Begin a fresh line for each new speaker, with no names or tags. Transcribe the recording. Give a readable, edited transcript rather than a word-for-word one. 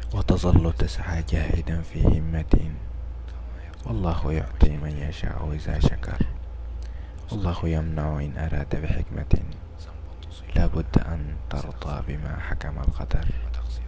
وتظل تسعى جاهدا في همة. والله يعطي من يشاء إذا شكر. والله يمنع إن أراد بحكمة. لا بد أن ترضى بما حكم القدر.